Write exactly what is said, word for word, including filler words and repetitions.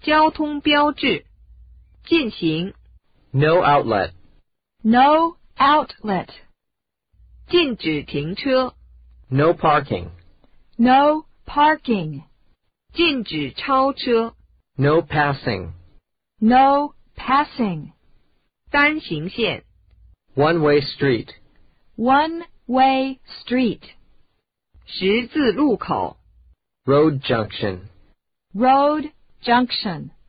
交通标志，进行， No outlet. No outlet. 禁止停车， No parking. No parking. 禁止超车， No passing. No passing. 单行线， One-way street. One-way street. 十字路口， Road junction. Road junction.